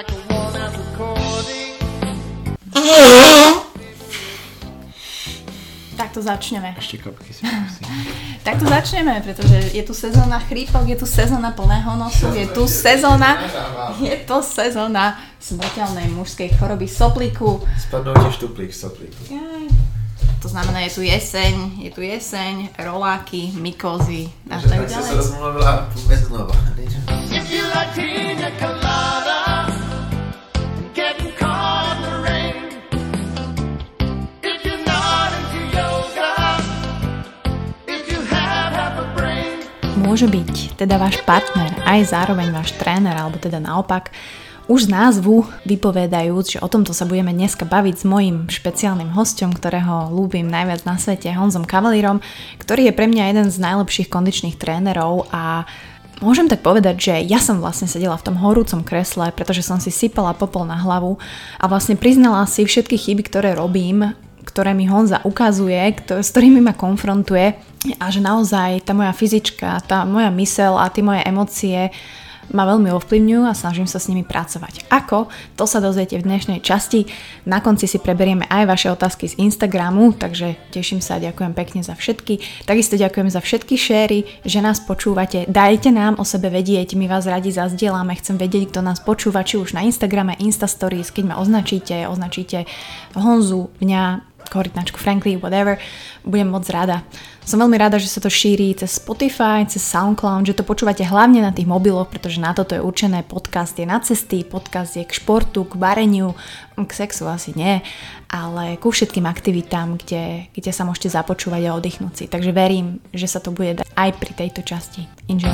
Tak to začneme. Ešte kapky si prosím. Tak to začneme, pretože je tu sezóna chrípok, je tu sezóna plného nosu, je tu sezóna smrteľnej mužskej choroby soplíku. Spadnul ti štuplík soplíku. To znamená, je tu jeseň, roláky, mykózy a tak ďalej. Tak si sa rozmluvila vôbec znova. Môže byť teda váš partner aj zároveň váš tréner, alebo teda naopak, už z názvu vypovedajúc, že o tomto sa budeme dneska baviť s mojím špeciálnym hosťom, ktorého ľúbim najviac na svete, Honzom Cavalierom, ktorý je pre mňa jeden z najlepších kondičných trénerov a môžem tak povedať, že ja som vlastne sedela v tom horúcom kresle, pretože som si sypala popol na hlavu a vlastne priznala si všetky chyby, ktoré robím, ktoré mi Honza ukazuje, s ktorými ma konfrontuje a že naozaj tá moja fyzička, tá moja myseľ a tie moje emócie ma veľmi ovplyvňujú a snažím sa s nimi pracovať. Ako? To sa dozviete v dnešnej časti. Na konci si preberieme aj vaše otázky z Instagramu, takže teším sa a ďakujem pekne za všetky. Takisto ďakujem za všetky šéry, že nás počúvate. Dajte nám o sebe vedieť, my vás radi zazdielame, chcem vedieť, kto nás počúva, či už na Instagrame, Insta Stories, keď ma označíte Honzu, mňa, korytnačku Frankly, whatever, budem moc rada. Som veľmi rada, že sa to šíri cez Spotify, cez SoundCloud, že to počúvate hlavne na tých mobiloch, pretože na toto je určené. Podcast je na cesty, podcast je k športu, k vareniu, k sexu asi nie, ale ku všetkým aktivitám, kde sa môžete započúvať a oddychnúť si. Takže verím, že sa to bude dať aj pri tejto časti. Enjoy.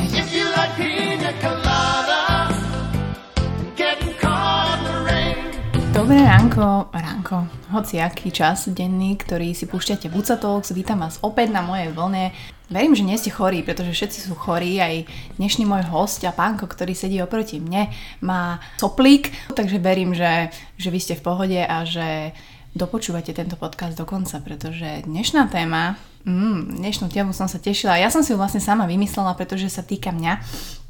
Dobré ránko, hociaký čas denný, ktorý si púšťate v UCA Talks, vítam vás opäť na mojej vlne. Verím, že nie ste chorí, pretože všetci sú chorí, aj dnešný môj host a pánko, ktorý sedí oproti mne, má soplík, takže verím, že vy ste v pohode a že dopočúvate tento podcast do konca, pretože dnešná téma, dnešnú tému som sa tešila, ja som si ju vlastne sama vymyslela, pretože sa týka mňa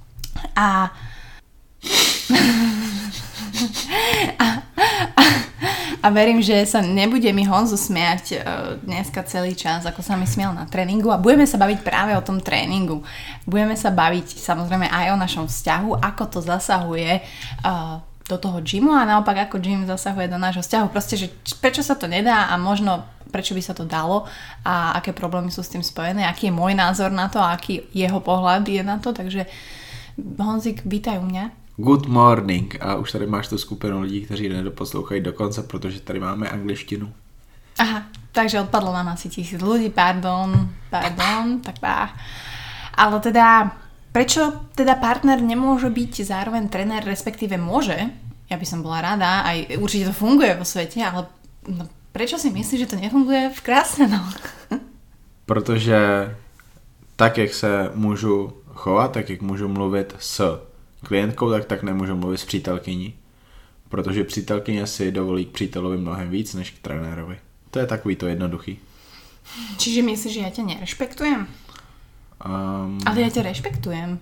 a verím, že sa nebude mi Honzo smiať dneska celý čas, ako sa mi smiel na tréningu a budeme sa baviť práve o tom tréningu. Budeme sa baviť samozrejme aj o našom vzťahu, ako to zasahuje do toho gymu a naopak ako gym zasahuje do nášho vzťahu. Proste, že prečo sa to nedá a možno prečo by sa to dalo a aké problémy sú s tým spojené, aký je môj názor na to a aký jeho pohľad je na to. Takže Honzik, vítaj u mňa. Good morning. A už tady máš tu skupinu lidí, kteří nedoposlouchají do konce, protože tady máme angličtinu. Aha, takže odpadlo nám asi 1000 ľudí, pardon, tak bá. Ale teda, prečo teda partner nemôže byť zároveň tréner, respektíve môže? Ja by som bola rada, aj určite to funguje vo svete, ale prečo si myslíš, že to nefunguje v krásne, no? Protože tak, jak se můžu chovat, tak jak můžu mluvit s klientkou, tak nemůžu mluvit s přítelkyní. Protože přítelkyně si dovolí k přítelovi mnohem víc než k trenérovi. To je takový to jednoduchý. Čiže myslíš, že ja ťa nerešpektujem? Ale ja ťa rešpektujem.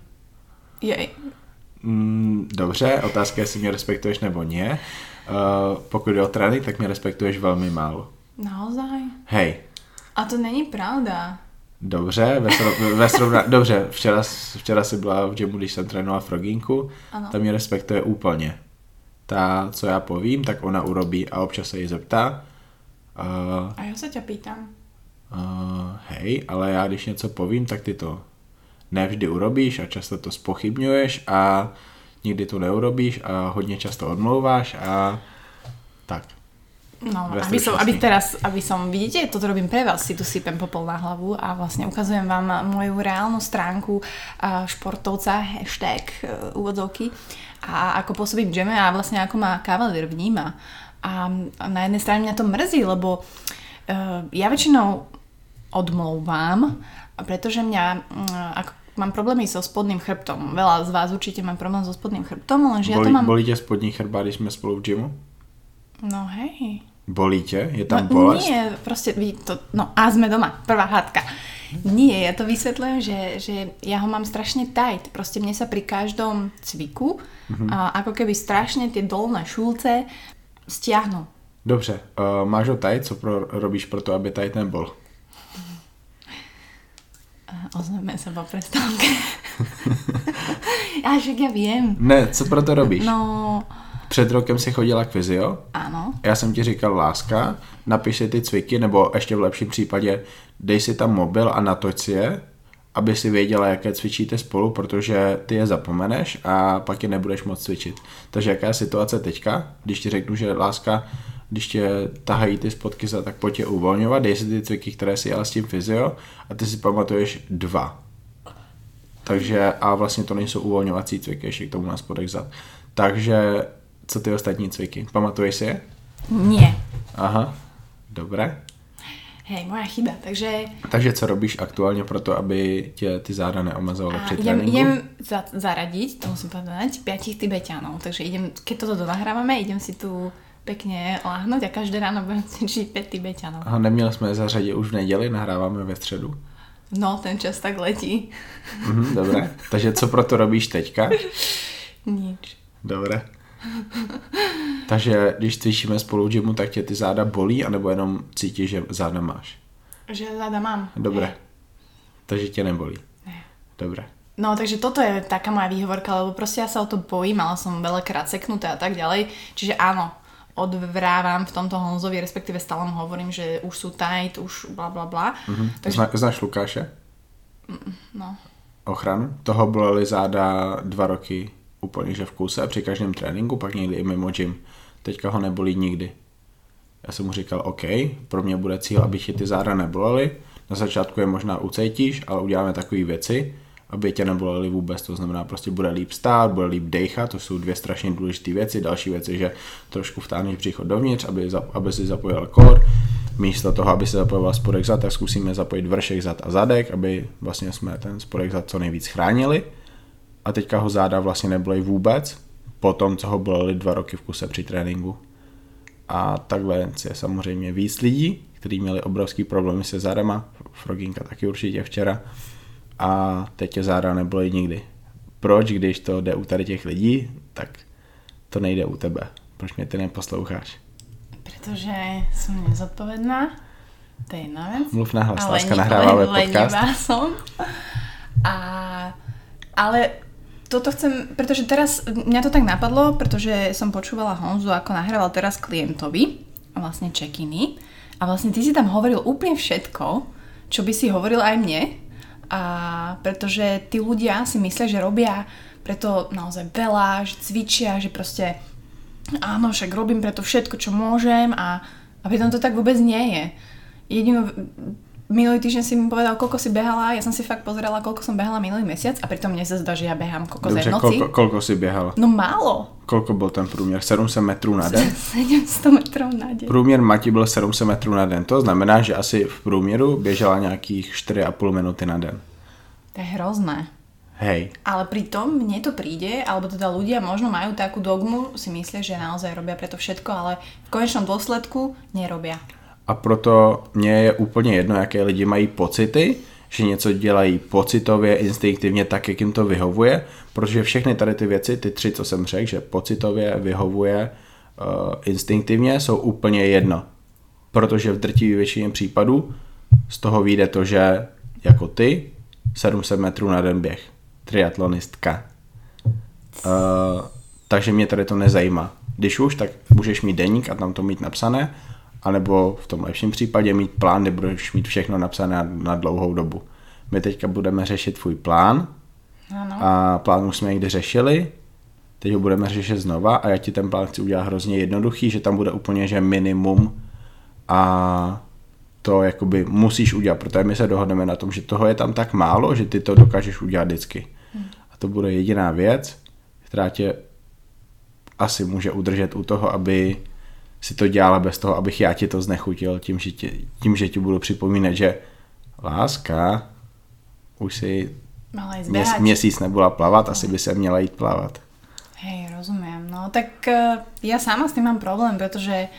Dobře, otázka je, jestli mě respektuješ nebo nie. Pokud je o trénink, tak mě respektuješ velmi málo. Naozaj? Hej. A to není pravda. Dobře, dobře, včera si byla v gymu, když jsem trénoval frogínku, ta mě respektuje úplně. Ta, co já povím, tak ona urobí a občas se jí zeptá. A já se tě pýtam. Hej, ale já když něco povím, tak ty to nevždy urobíš a často to zpochybňuješ a nikdy to neurobíš a hodně často odmlouváš a tak. No, aby som, vidíte, toto robím pre vás, si tu sypem popol na hlavu a vlastne ukazujem vám moju reálnu stránku športovca, hashtag úvodzovky a ako pôsobím v gyme a vlastne ako ma Cavalier vníma. A na jednej strane mňa to mrzí, lebo ja väčšinou odmlouvám, pretože ako mám problémy so spodným chrbtom. Veľa z vás určite má problém so spodným chrbtom, lenže ja to mám... Bolí ťa spodní chrbát, když sme spolu v gymu? No hej. Bolí ťa? Je tam bolesť? Nie, proste, a sme doma, prvá hádka. Nie, ja to vysvetľujem, že ja ho mám strašne tight. Proste mne sa pri každom cviku ako keby strašne tie dolné šulce stiahnu. Dobře, máš ho tight, co robíš pro to, aby tight nebol? Ozveme sa po prestávke. Však ja viem. Ne, co pro to robíš? No... Před rokem si chodila k fyzio. Ano. Já jsem ti říkal, láska, napiš si ty cviky, nebo ještě v lepším případě dej si tam mobil a natoč si je, aby si věděla, jaké cvičíte spolu, protože ty je zapomeneš a pak je nebudeš moc cvičit. Takže jaká je situace teďka, když ti řeknu, že láska, když tě tahají ty spotky za, tak pojď je uvolňovat, dej si ty cviky, které si jela s tím fyzio a ty si pamatuješ 2. Takže a vlastně to nejsou uvolňovací cviky, ještě k tomu na spodek zad. Takže co ty ostatní cviky? Pamatuješ si je? Nie. Aha, dobré. Hej, moja chyba, takže... Takže co robíš aktuálně pro to, aby tě ty záda neomazovaly při tréninku? Idem zaradiť, to musím povedať, 5 Tibeťanov. Takže idem, keď toto nahrávame, idem si tu pekne láhnuť a každé ráno budem cvičiť 5 Tibeťanov. Aha, neměli jsme je zařadit už v neděli, nahráváme ve středu. No, ten čas tak letí. Dobré, takže co pro to robíš teďka? Nič. Dobré. Takže když cvičíme spolu v gymu, tak tě ty záda bolí, anebo jenom cítíš, že záda máš? Že záda mám. Dobré. Hej. Takže tě nebolí. Ne. Dobré. No, takže toto je taká moja výhovorka, lebo proste ja sa o to bojím, mala som veľakrát seknuté a tak ďalej. Čiže áno, odvrávam v tomto Honzovi, respektíve stále mu hovorím, že už sú tight, už bla bla bla. Takže... Znáš Lukáše? No. Ochranu? Toho bolely záda 2 roky úplně že v kuse při každém tréninku, pak někdy i mimo gym. Teďka ho nebolí nikdy. Já jsem mu říkal, OK, pro mě bude cíl, aby ti ty záda nebolely. Na začátku je možná ucítíš, ale uděláme takové věci, aby tě nebolely vůbec. To znamená, prostě bude líp stát, bude líp dejchat, to jsou 2 strašně důležité věci. Další věc je, že trošku vtáhneš břicho dovnitř, aby si zapojil core. Místo toho, aby se zapojoval spodek zad, tak zkusíme zapojit vršek zad a zadek, aby vlastně jsme ten spodek zad co nejvíc chránili. A teďka ho záda vlastně nebolej vůbec, po tom, co ho bolely 2 roky v kuse při tréninku. A takhle je samozřejmě víc lidí, kteří měli obrovský problémy se zádama, Froginka taky určitě včera, a teď tě záda nebolej nikdy. Proč, když to jde u tady těch lidí, tak to nejde u tebe. Proč mě ty neposloucháš? Pretože som nezodpovedná, to je jedna vec. Mluv nahlas, láska, nahráváme podcast. Lenivá som. Ale toto chcem, pretože teraz mňa to tak napadlo, pretože som počúvala Honzu, ako nahrával teraz klientovi, vlastne check-iny. A vlastne ty si tam hovoril úplne všetko, čo by si hovoril aj mne. A pretože tí ľudia si myslia, že robia preto naozaj veľa, že cvičia, že proste áno, však robím preto všetko, čo môžem a pritom to tak vôbec nie je. Minulý týždeň si mi povedal, koľko si behala, ja som si fakt pozerala, koľko som behala minulý mesiac a pritom mne sa zdá, že ja behám kokos aj v noci. Koľko si behala? No málo. Koľko bol ten průměr? 700 metrů na den? 700 metrů na den. Průměr Mati byl 700 metrů na den, to znamená, že asi v průměru běžela nějakých 4,5 minuty na den. To je hrozné. Hej. Ale pritom mne to príde, alebo teda ľudia možno majú takú dogmu, si myslia, že naozaj robia preto všetko, ale v konečnom dôsledku nerobia. A proto mně je úplně jedno, jaké lidi mají pocity, že něco dělají pocitově, instinktivně tak, jak jim to vyhovuje, protože všechny tady ty věci, ty 3, co jsem řekl, že pocitově, vyhovuje, instinktivně, jsou úplně jedno. Protože v drtivé většině případů z toho vyjde to, že jako ty 700 metrů na den běh. Triatlonistka. Takže mě tady to nezajímá. Když už, tak můžeš mít deník a tam to mít napsané, anebo v tom lepším případě mít plán, kde budeš mít všechno napsané na dlouhou dobu. My teďka budeme řešit tvůj plán. Ano. A plán už jsme někdy řešili, teď ho budeme řešit znova a já ti ten plán chci udělat hrozně jednoduchý, že tam bude úplně že minimum a to jakoby musíš udělat, protože my se dohodneme na tom, že toho je tam tak málo, že ty to dokážeš udělat vždycky. A to bude jediná věc, která tě asi může udržet u toho, aby si to dělala bez toho, abych já ti to znechutil tím, že ti budu připomínat, že láska, už si měsíc nebyla plavat, asi by se měla jít plavat. Hej, rozumiem. No tak ja sama s tým mám problém, pretože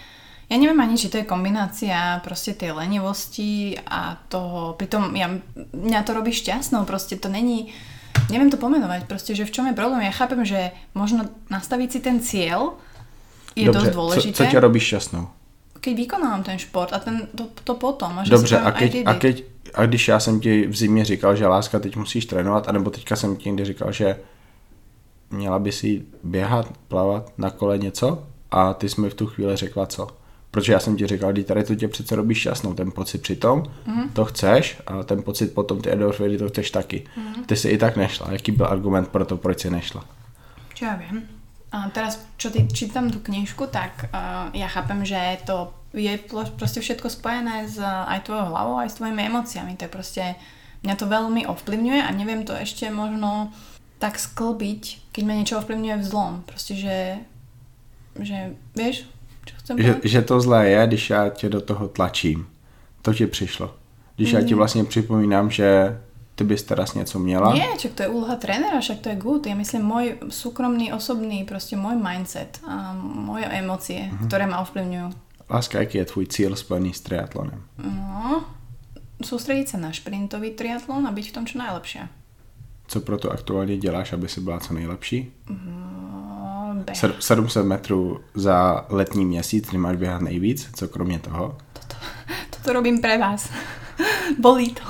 Ja neviem ani, či to je kombinácia proste tej lenivosti a toho, pritom mňa to robí šťastnou, proste to není, neviem to pomenovať, proste, že v čom je problém. Ja chápem, že možno nastaviť si ten cieľ je Dobře, dosť dôležité. Co ťa robí šťastnou? Keď vykonávam ten šport a to potom. A že Dobře, si a když já jsem ti v zimě říkal, že láska, teď musíš trénovat, anebo teďka jsem ti někdy říkal, že měla by si běhat, plavat, na kole něco a ty jsi mi v tu chvíli řekla co? Protože já jsem ti říkal, že tady to tě přece robí šťastnou, ten pocit přitom, to chceš a ten pocit potom ty endorfiny to chceš taky. Ty si i tak nešla. Jaký byl argument pro to, proč si nešla? Čo ja viem. A teraz, čo ty čítam tú knižku, tak ja chápem, že to je proste všetko spojené s aj tvojou hlavou, aj s tvojimi emóciami. Tak proste mňa to veľmi ovplyvňuje a neviem to ešte možno tak sklbiť, keď ma niečo ovplyvňuje v zlom. Proste, že vieš, čo chcem povedať? Že to zlé je, když já tě do toho tlačím. To ti přišlo. Když já ti vlastně připomínám, že ty bys teraz něco měla. Nie, čak to je úloha trénera, však to je good. Ja myslím, môj súkromný, osobný, proste môj mindset a moje emócie, ktoré ma ovplyvňujú. Láska, jaký je tvůj cíl spojený s triatlonem? No, sústrediť sa na šprintový triatlon a byť v tom čo najlepšia. Co proto aktuálně děláš, aby si byla co nejlepší? Beh. 700 metrů za letní měsíc, kdy máš běhat nejvíc, co kromě toho? Toto robím pre vás. Bolí to.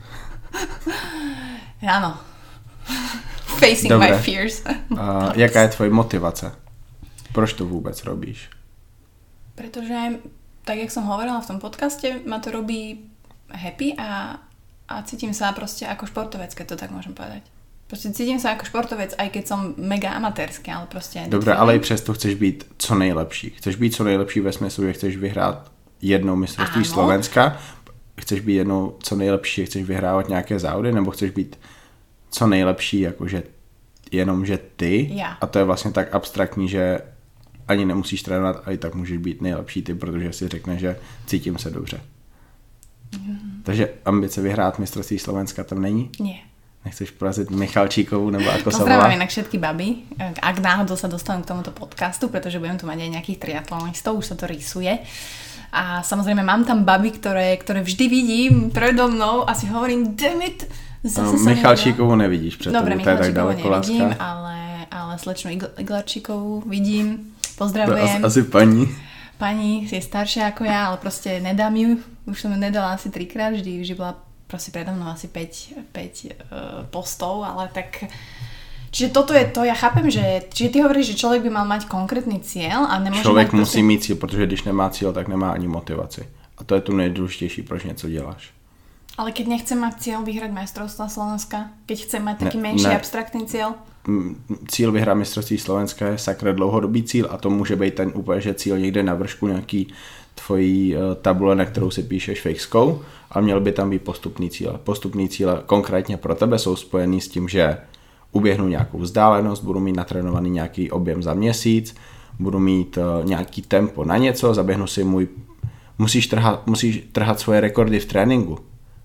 Áno. Facing Dobre. my fears. Jaká je tvoje motivace? Proč to vůbec robíš? Pretože, tak jak som hovorila v tom podcaste, ma to robí happy a cítim sa proste ako športovec, keď to tak môžem povedať. Proste cítim sa ako športovec, aj keď som mega amatérský, ale proste... Dobre, ale i přesto chceš být co nejlepší. Chceš být co nejlepší ve smyslu, že chceš vyhrát jednou mistrovství Slovenska, chceš být jednou co nejlepší, chceš vyhrávat nějaké závody, nebo chceš být co nejlepší, jakože jenom, že ty. Ja. A to je vlastně tak abstraktní, že ani nemusíš trénovat a i tak můžeš být nejlepší ty, protože si řekneš, že cítím se dobře. Takže ambice vyhrát mistrovství Slovenska tam není? Nie. Nechceš porazit Michalčíkovú nebo ako sa volá? Pozdravám inak všetky baby, ak náhodou sa dostanú k tomuto podcastu, pretože budem tu mať aj nejakých triatlonistov, už sa to rýsuje. A samozrejme mám tam baby, ktoré vždy vidím predo mnou a si hovorím, damn it, zase sa Michalčíkovú nevidíš před Dobre, tebou, to je tak ďaleko nevidím, láska. ale slečnu Iglarčíkovú vidím, pozdravujem. Asi paní. Pani je staršia ako ja, ale proste nedám ju, už som ju nedala asi 3-krát, vždy bola proste predo mnou asi 5 postov, ale tak... Čiže toto je to, ja chápem, že ty hovoríš, že človek by mal mať konkrétny cieľ a nemôže Člověk mať musí mít cíl, protože když nemá cíl, tak nemá ani motivaci. A to je tu nejdůležitější, proč něco děláš. Ale keď nechcem mať cieľ vyhrať majstrovstvá Slovenska, keď chcem mať taký menší abstraktný cieľ? Cíl vyhrát mistrovství Slovenska je sakra dlouhodobý cíl a to může být ten úplně, že cíl někde na vršku nějaký tvojí tabule, na kterou si píšeš fejskou, ale měl by tam být postupný cíl. Postupný cíle konkrétně pro tebe jsou spojený s tím, že uběhnu nějakou vzdálenost, budu mít natrénovaný nějaký objem za měsíc, budu mít nějaký tempo na něco, zaběhnu si musíš trhat svoje rekordy v tréninku.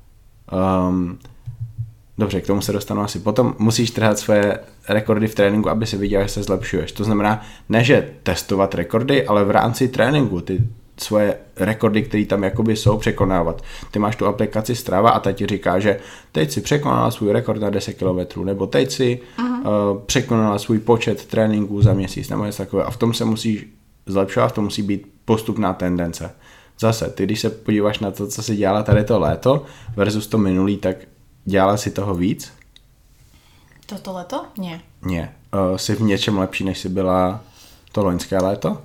Dobře, k tomu se dostanu asi potom. Musíš trhat svoje rekordy v tréninku, aby si viděl, že se zlepšuješ. To znamená, ne že testovat rekordy, ale v rámci tréninku ty svoje rekordy, které tam jakoby jsou, překonávat. Ty máš tu aplikaci Strava a ta ti říká, že teď si překonala svůj rekord na 10 km, nebo teď si překonala svůj počet tréninků za měsíc, nebo něco takové. A v tom se musíš zlepšovat, v tom musí být postupná tendence. Zase, ty když se podíváš na to, co si dělala tady to léto versus to minulý, tak dělala si toho víc? Toto leto? Nie. Nie. Jsi v něčem lepší, než jsi byla to loňské léto?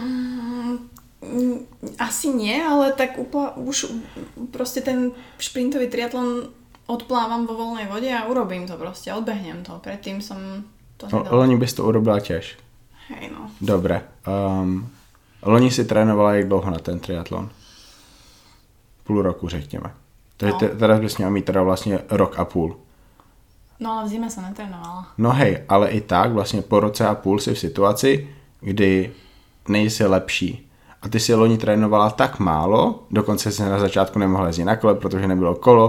Asi nie, ale tak už proste ten šprintový triatlon odplávam vo voľnej vode a urobím to proste, odbehnem to. Predtým som to nedala. Loni bys to urobila těž. Hej no. Dobre. Loni si trénovala jak dlouho na ten triatlon? Půl roku, řekněme. Takže teraz bys měla mít teda vlastně rok a půl. No ale v zime som netrénovala. No hej, ale i tak vlastně po roce a půl si v situaci, kdy nejsi lepší. A ty si loni trénovala tak málo, dokonce si na začátku nemohla jezdit na kole, protože nebylo kolo,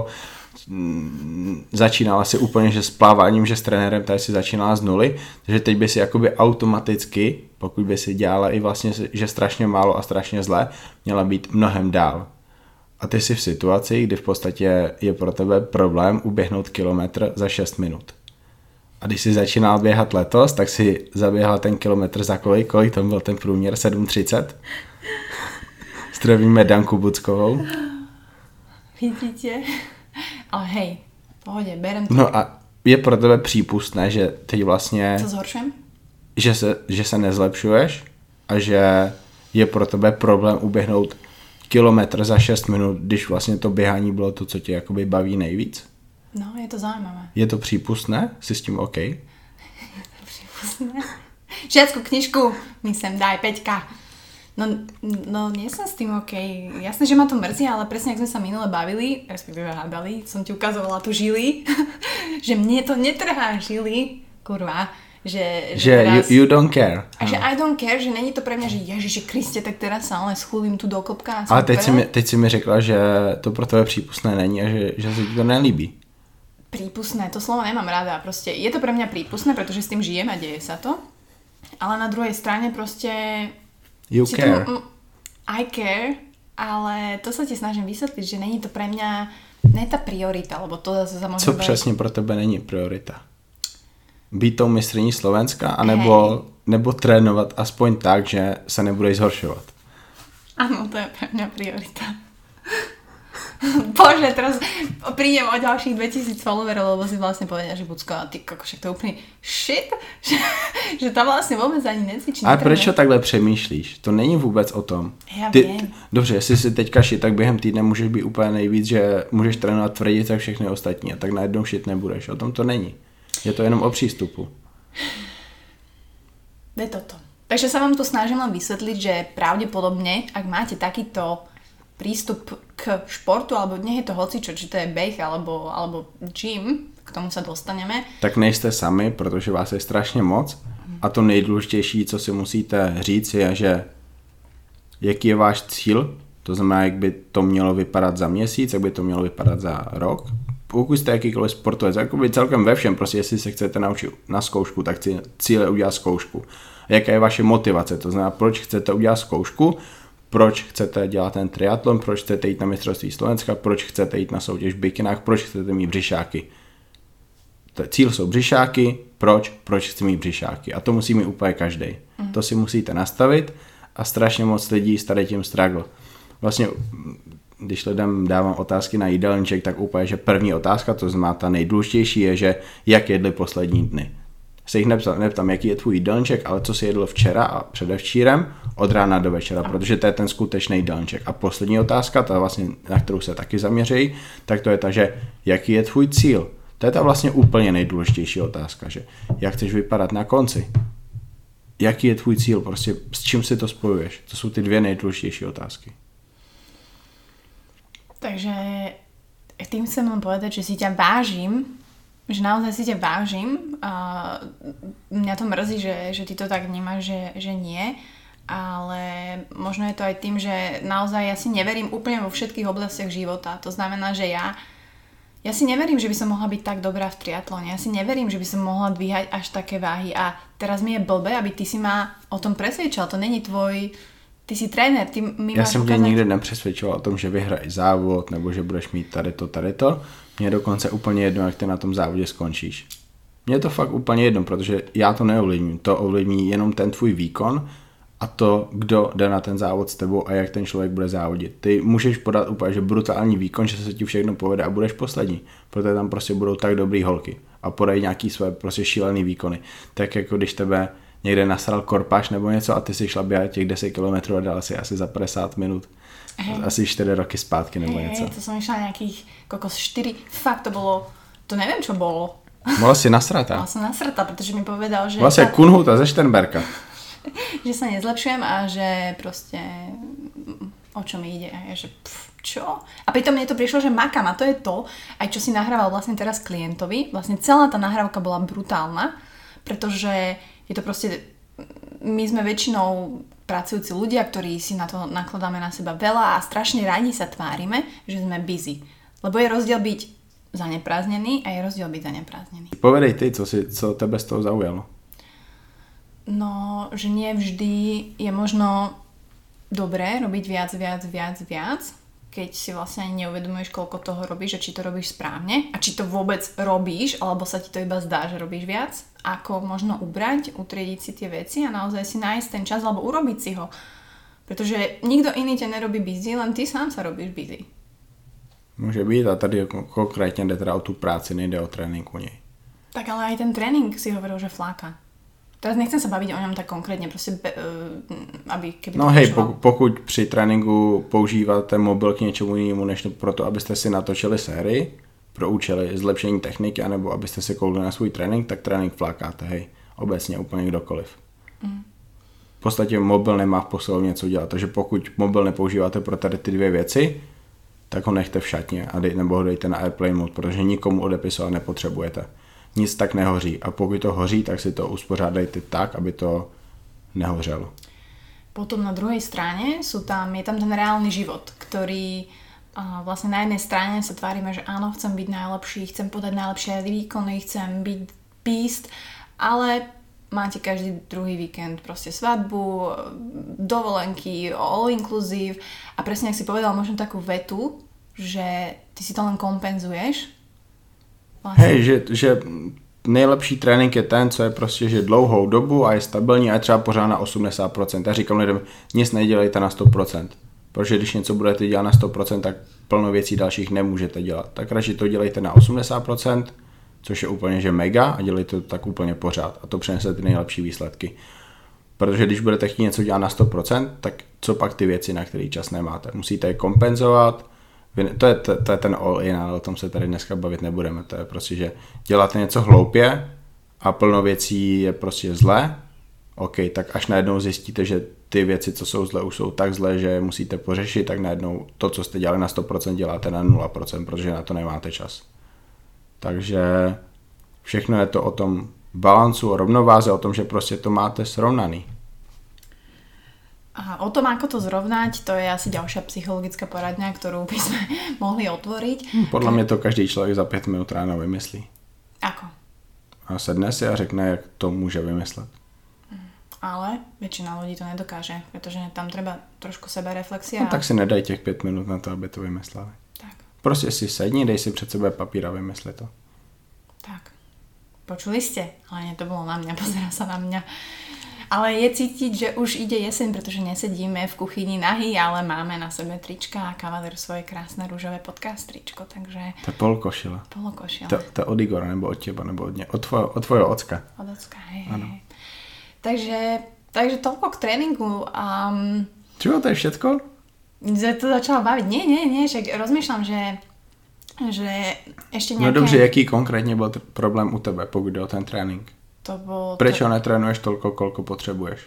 začínala si úplně, že s pláváním, že s trenérem tady si začínala z nuly, takže teď by si jakoby automaticky, pokud by si dělala i vlastně, že strašně málo a strašně zle, měla být mnohem dál. A ty jsi v situaci, kdy v podstatě je pro tebe problém uběhnout kilometr za 6 minut. A když jsi začínal běhat letos, tak si zaběhla ten kilometr za kolik tam byl ten průměr? 7:30? Zdravíme Danku Buckovou. Vidíte? Ale hej, v pohode, berem to. No a je pro tebe přípustné, že teď vlastně... Co zhoršujem? Že se nezlepšuješ a že je pro tebe problém uběhnout kilometr za 6 minut, když vlastně to běhání bylo to, co tě jakoby baví nejvíc? No, je to zaujímavé. Je to přípustné? Jsi s tím OK? Je to přípustné? Žiackú knižku mi sem daj, Peťka. No, nie som s tým OK. Jasné, že ma to mrzí, ale presne, ak sme sa minule bavili, respektíve hádali, som ti ukazovala tu žily, že mne to netrhá žily, kurva, že teraz, you don't care. A že I don't care, že není to pre mňa, že Ježiši Kriste, tak teraz sa ale schulím tu do klopka. Ale teď si mi řekla, že to pro tebe přípustné není a že se ti to nelíbí. Prípustné, to slovo nemám rada. Proste je to pre mňa prípustné, pretože s tým žijem a deje sa to. Ale na druhej strane proste... You care. I care, ale to sa ti snažím vysvetliť, že není to pre mňa ne tá priorita, lebo to zase sa môže... Co přesně pro tebe není priorita? Být tou mistryní Slovenska, anebo nebo trénovat aspoň tak, že se nebudeš zhoršovat? Áno, to je pre mňa priorita. Bože, teraz prídem o ďalších 2000 followerov, lebo si vlastne povedia, že Bucko, a ty však to je úplný shit, že tam vlastne vôbec ani necvičí. Ale proč takhle přemýšlíš? To není vůbec o tom. Já vím. Dobře, jestli si teďka shit, tak během týdne můžeš být úplně nejvíc, že můžeš trénovat tvrdě tak všechny ostatní a tak najednou shit nebudeš. O tom to není. Je to jenom o přístupu. Je toto. Takže sa vám tu snažím len vysvetliť, že pravdepodobne, ak máte takýto prístup k športu, alebo nech je to hocičo, či to je beh, alebo gym, k tomu sa dostaneme. Tak nejste sami, protože vás je strašně moc a to nejdůležitější, co si musíte říct, je, že jaký je váš cíl, to znamená, jak by to mělo vypadat za měsíc, jak by to mělo vypadat za rok. Pokud jste jakýkoliv sportovec, jakoby celkem ve všem, prostě jestli se chcete naučit na zkoušku, tak cíl je udělat zkoušku. A jaká je vaše motivace, to znamená, proč chcete udělat zkoušku, proč chcete dělat ten triatlon, proč chcete jít na mistrovství Slovenska, proč chcete jít na soutěž v bikinách, proč chcete mít břišáky. Cíl jsou břišáky, proč chci mít břišáky. A to musí mít úplně každý. To si musíte nastavit a strašně moc lidí s tady tím struggle. Vlastně, když lidem dávám otázky na jídelníček, tak úplně, že první otázka, to znamená ta nejdůležitější, je, že jak jedli poslední dny. Se jich neptám, jaký je tvůj jídelníček, ale co si jedl včera a předevčírem od rána do večera, protože to je ten skutečný jídelníček. A poslední otázka, ta vlastně, na kterou se taky zaměří, tak to je ta, že jaký je tvůj cíl. To je ta vlastně úplně nejdůležitější otázka, že jak chceš vypadat na konci. Jaký je tvůj cíl, prostě s čím si to spojuješ. To jsou ty dvě nejdůležitější otázky. Takže tým chcem len povedať, že si ťa vážim, že naozaj si ťa vážim a mňa to mrzí, že ty to tak vnímaš, že nie, ale možno je to aj tým, že naozaj ja si neverím úplne vo všetkých oblastiach života. To znamená, že ja si neverím, že by som mohla byť tak dobrá v triatlone. Ja si neverím, že by som mohla dvíhať až také váhy a teraz mi je blbé, aby ty si ma o tom presvedčal. To není tvoj... Ty jsi trenér, ty mi Já jsem tě nikdy nepřesvědčoval o tom, že vyhraješ závod, nebo že budeš mít tady to. Mně je dokonce úplně jedno, jak ty na tom závodě skončíš. Mně je to fakt úplně jedno, protože já to neovlivním. To ovlivní jenom ten tvůj výkon a to, kdo jde na ten závod s tebou a jak ten člověk bude závodit. Ty můžeš podat úplně že brutální výkon, že se ti všechno povede a budeš poslední, protože tam prostě budou tak dobrý holky a podají nějaký své prostě šílený výkony. Tak jako když tebe někde nasral korpaš nebo něco a ty si šla běhat těch 10 km a dala si asi za 50 minut. Asi 4 roky zpátky nebo něco. To som išla nejakých 4, fakt to bolo, to neviem čo bolo. Bola si nasratá. Bola som nasratá, pretože mi povedal, že... Vlastne Kunhuta ze Šternberka. Že sa nezlepšujem a že proste o čo mi ide. A ja, že čo? A pritom mne to prišlo, že makám a to je to, aj čo si nahrával vlastne teraz klientovi. Vlastne celá tá nahrávka bola brutálna, pretože je to proste, my sme väčšinou pracujúci ľudia, ktorí si na to nakladáme na seba veľa a strašne radi sa tvárime, že sme busy. Lebo je rozdiel byť zaneprázdnený a je rozdiel byť zaneprázdnený. Povedej ty, co tebe z toho zaujalo. No, že nie vždy je možno dobré robiť viac, keď si vlastne ani neuvedomuješ, koľko toho robíš a či to robíš správne a či to vôbec robíš, alebo sa ti to iba zdá, že robíš viac, ako možno ubrať, utriediť si tie veci a naozaj si nájsť ten čas alebo urobiť si ho. Pretože nikto iný ťa nerobí busy, len ty sám sa robíš busy. Může být a tady konkrétně jde teda o tu práci, nejde o trénink u něj. Tak ale aj ten tréning si hovoril, že fláka. Teraz nechcem sa baviť o ňom tak konkrétne, prostě, aby keby no hej, pokud při tréninku používáte mobil k něčemu jinému, než proto, abyste si natočili sérii pro účely zlepšení techniky, anebo abyste si koukli na svůj trénink, tak trénink flákáte, hej, obecně úplně kdokoliv. V podstatě mobil nemá v posilovně co dělat, takže pokud mobil nepoužíváte pro tady ty dvě věci, tak ho nechte v šatně nebo ho dejte na airplane mode, protože nikomu odepisovat nepotřebujete. Nic tak nehoří a pokud to hoří, tak si to uspořádajte tak, aby to nehořelo. Potom na druhej strane je tam ten reálny život, ktorý vlastne na jednej strane sa tvárime, že áno, chcem byť najlepší, chcem podať najlepšie výkony, chcem byť beast, ale máte každý druhý víkend proste svadbu, dovolenky, all inclusive a presne, ak si povedal možno takú vetu, že ty si to len kompenzuješ. Vlastne. Hej, že nejlepší trénink je ten, co je prostě, že dlouhou dobu a je stabilní a je třeba pořád na 80%. Já říkám lidem, nic nedělejte na 100%, protože když něco budete dělat na 100%, tak plno věcí dalších nemůžete dělat. Tak radši to dělejte na 80%, což je úplně že mega a dělejte to tak úplně pořád a to přinese ty nejlepší výsledky. Protože když budete chtít něco dělat na 100%, tak co pak ty věci, na které čas nemáte? Musíte je kompenzovat. To je ten all-in, ale o tom se tady dneska bavit nebudeme. To je prostě, že děláte něco hloupě a plno věcí je prostě zlé. OK, tak až najednou zjistíte, že ty věci, co jsou zlé, už jsou tak zlé, že je musíte pořešit, tak najednou to, co jste dělali na 100%, děláte na 0%, protože na to nemáte čas. Takže všechno je to o tom balancu, o rovnováze, o tom, že prostě to máte srovnaný. A o tom, ako to zrovnať, to je asi ďalšia psychologická poradňa, ktorú by sme mohli otvoriť. Podľa mňa to každý človek za 5 minút ráno vymyslí. Ako? A sedne si a řekne, jak to môže vymyslet. Ale väčšina ľudí to nedokáže, pretože tam treba trošku sebereflexia. No tak si nedaj těch 5 minút na to, aby to vymysleli. Tak. Prostě si sedni, dej si před sebe papír a vymysli to. Tak. Počuli ste? Ale nie, to bolo na mňa, pozerá sa na mňa. Ale je cítiť, že už ide jeseň, pretože nesedíme v kuchyni nahý, ale máme na sebe trička a Kavaler svoje krásne rúžové podcast tričko, takže... To je polokošile. Polokošile. To je od Igora, nebo od teba, nebo od tvojho ocka. Od ocka, hej. Ano. Takže toľko k tréningu. Čo, to je všetko? To začala baviť. Nie, však rozmýšľam, že ešte nejaké... No dobře, jaký konkrétně byl problém u tebe, pokud jde o ten trénink? Prečo netrénuješ toľko, koľko potrebuješ?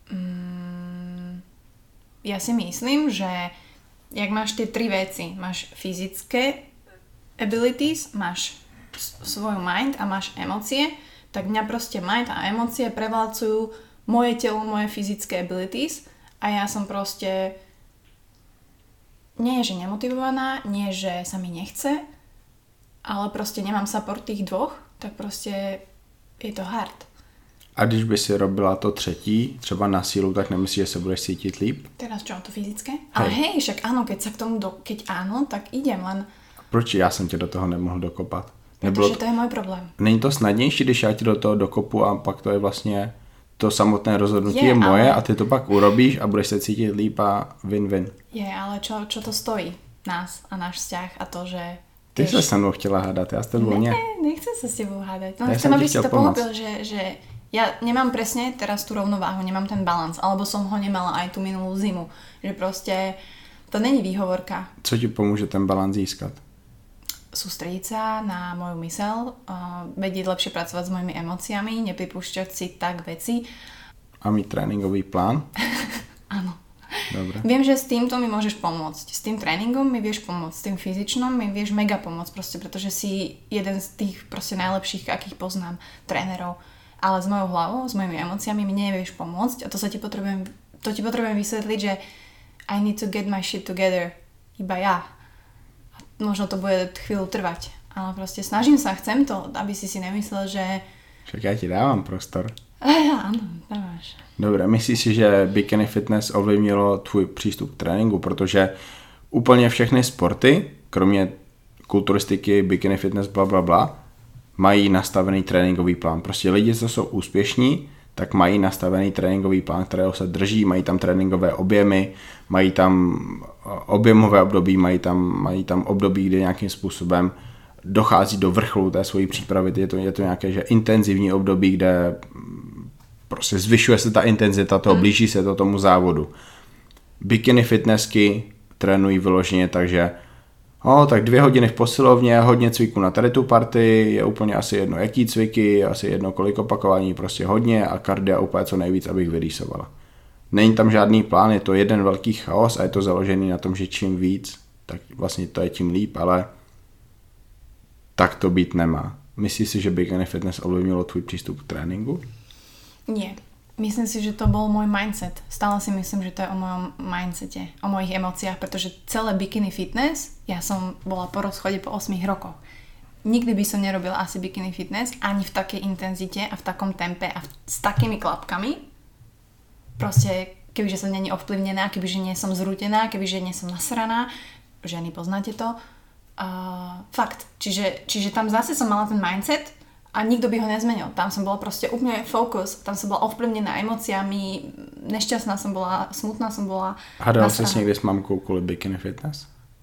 Ja si myslím, že jak máš tie 3 veci, máš fyzické abilities, máš svoj mind a máš emócie, tak mňa proste mind a emócie preválcujú moje telo, moje fyzické abilities a ja som proste nie je, že nemotivovaná, nie, že sa mi nechce, ale proste nemám support tých dvoch, tak proste je to hard. A když by si robila to třetí, třeba na sílu, tak nemyslíš, že se budeš cítit líp? Teraz čo, to fyzické? Ale hej, však áno, keď sa k tomu, keď áno, tak idem, len... Proč já jsem tě do toho nemohl dokopat? Protože to je můj problém. Není to snadnější, když já ti do toho dokopu a pak to je vlastně to samotné rozhodnutí je moje a ty to pak urobíš a budeš se cítit líp a win-win. Ale čo to stojí? Nás a náš vzťah a to, že... Ty sa sa mnou chtěla hádat, já s tebou nie. Nechcem sa s tebou hádať. No, chcem, aby si to pochopil, že ja nemám presne teraz tú rovnováhu, nemám ten balans, alebo som ho nemala aj tú minulú zimu. Že proste to není výhovorka. Co ti pomôže ten balans získat? Sústrediť sa na moju mysel, vedieť lepšie pracovať s mojimi emóciami, nepripúšťať si tak veci. A mít tréningový plán? Áno. Dobre. Viem, že s týmto mi môžeš pomôcť. S tým tréningom mi vieš pomôcť, s tým fyzičnom mi vieš mega pomôcť, proste, pretože si jeden z tých proste najlepších, akých poznám, trénerov. Ale s mojou hlavou, s mojimi emóciami mi nevieš pomôcť a to ti potrebujem vysvetliť, že I need to get my shit together. Iba ja. A možno to bude chvíľu trvať. Ale proste snažím sa, chcem to, aby si nemyslel, že... Však ja ti dávam prostor. Áno, dávaš. Dobre, myslíš si, že bikini fitness ovlivnilo tvůj přístup k tréninku? Protože úplně všechny sporty, kromě kulturistiky, bikini fitness, bla, bla, bla, mají nastavený tréninkový plán. Prostě lidi, co jsou úspěšní, tak mají nastavený tréninkový plán, kterého se drží, mají tam tréninkové objemy, mají tam objemové období, mají tam období, kde nějakým způsobem dochází do vrcholu té svojí přípravy. Je to nějaké že intenzivní období, kde prostě zvyšuje se ta intenzita toho, blíží se to tomu závodu. Bikini fitnessky trénují vyloženě, takže tak 2 hodiny v posilovně, hodně cviků na tady tu partii, je úplně asi jedno jaký cviky, asi jedno kolik opakování, prostě hodně a kardia úplně co nejvíc, abych vyrýsovala. Není tam žádný plán, je to jeden velký chaos a je to založený na tom, že čím víc, tak vlastně to je tím líp, ale tak to být nemá. Myslíš si, že bikini fitness ovlivnilo tvůj přístup k tréninku? Nie. Myslím si, že to bol môj mindset. Stále si myslím, že to je o mojom mindsete, o mojich emóciách, pretože celé bikini fitness, ja som bola po rozchode po 8 rokoch. Nikdy by som nerobila asi bikini fitness, ani v takej intenzite a v takom tempe a s takými klapkami. Proste, kebyže som není ovplyvnená, kebyže nie som zrútená, kebyže nie som nasraná, ženy, poznáte to. Fakt. Čiže tam zase som mala ten mindset, a nikto by ho nezmenil. Tam som bola proste úplne focus, tam som bola ovplyvnená emóciami, nešťastná som bola, smutná som bola. Hádala si niekde s mamkou kvôli bikini fitness?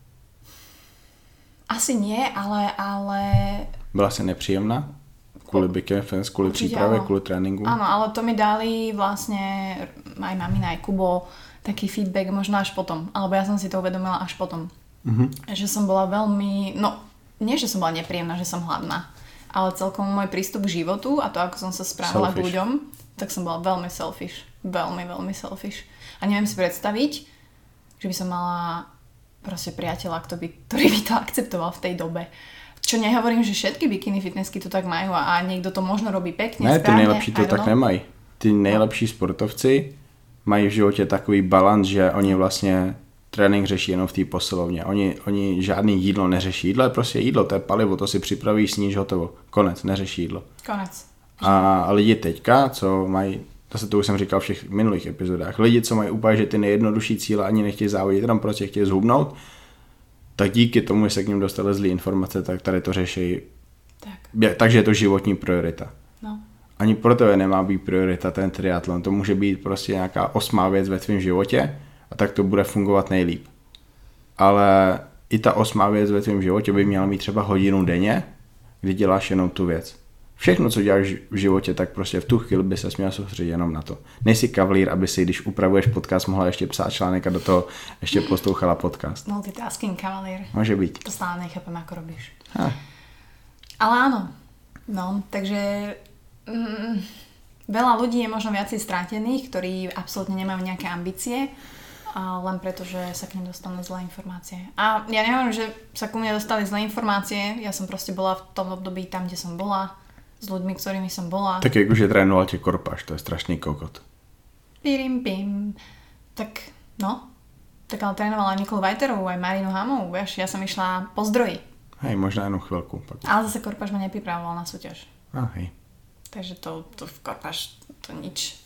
Asi nie, ale... Byla si nepříjemná? Kvôli bikini fitness, kvôli príprave, kvôli tréninku? Áno, ale to mi dali vlastne aj mamina, aj Kubo taký feedback možno až potom. Alebo ja som si to uvedomila až potom. Že som bola veľmi... No, nie, že som bola nepríjemná, že som hladná. Ale celkom môj prístup k životu a to, ako som sa správala k ľuďom, tak som bola veľmi selfish. Veľmi, veľmi selfish. A neviem si predstaviť, že by som mala proste priateľa, ktorý by to akceptoval v tej dobe. Čo nehovorím, že všetky bikini fitnessky to tak majú a niekto to možno robí pekne, ne, správne. Ty nejlepší to tak nemají. Ty nejlepší sportovci mají v životě takový balans, že oni vlastně trénink řeší jenom v té posilovně. Oni žádný jídlo neřeší. Jídlo je prostě jídlo, to je palivo, to si připravíš, sníš, hotovo. Konec, neřeší jídlo. Konec. A lidi teďka, co mají, to už jsem říkal v všech minulých epizodách, lidi, co mají úplně, že ty nejjednodušší cíle ani nechtějí závodit, tam prostě chtějí zhubnout, tak díky tomu, že se k ním dostaly zlý informace, tak tady to řeší. Tak. Takže je to životní priorita. No. Ani pro tebe nemá být priorita ten triatlon. To může být prostě nějaká 8. věc ve tvém životě, a tak to bude fungovat nejlíp. Ale i ta 8. věc ve tvém životě by měla mít třeba hodinu denně, kdy děláš jenom tu věc. Všechno, co děláš v životě, tak prostě v tu chvíli by se měl soustředit jenom na to. Nejsi kavalír, aby si, když upravuješ podcast, mohla ještě psát článek a do toho ještě poslouchala podcast. Multitasking kavalír. Může být. To stále nechápem, ako robíš. Ale áno. No, takže veľa ľudí je možno viacej strátených, ktorí absolútne nemajú nejaké ambície, len preto, že sa k nim dostanú zlé informácie. A ja neviem, že sa ku mne dostali zlé informácie, ja som proste bola v tom období tam, kde som bola, s ľuďmi, ktorými som bola. Tak jakože trénoval tě Korpaš, to je strašný kokot. Pim. Tak, no. Tak ale trénovala Nikolu Vajterovú, aj Marinu Hamovú, vieš, ja som išla po zdroji. Hej, možná jenom chvilku. Pak. Ale zase Korpaš ma nepripravoval na súťaž. Hej. Takže to v Korpaš, to nič.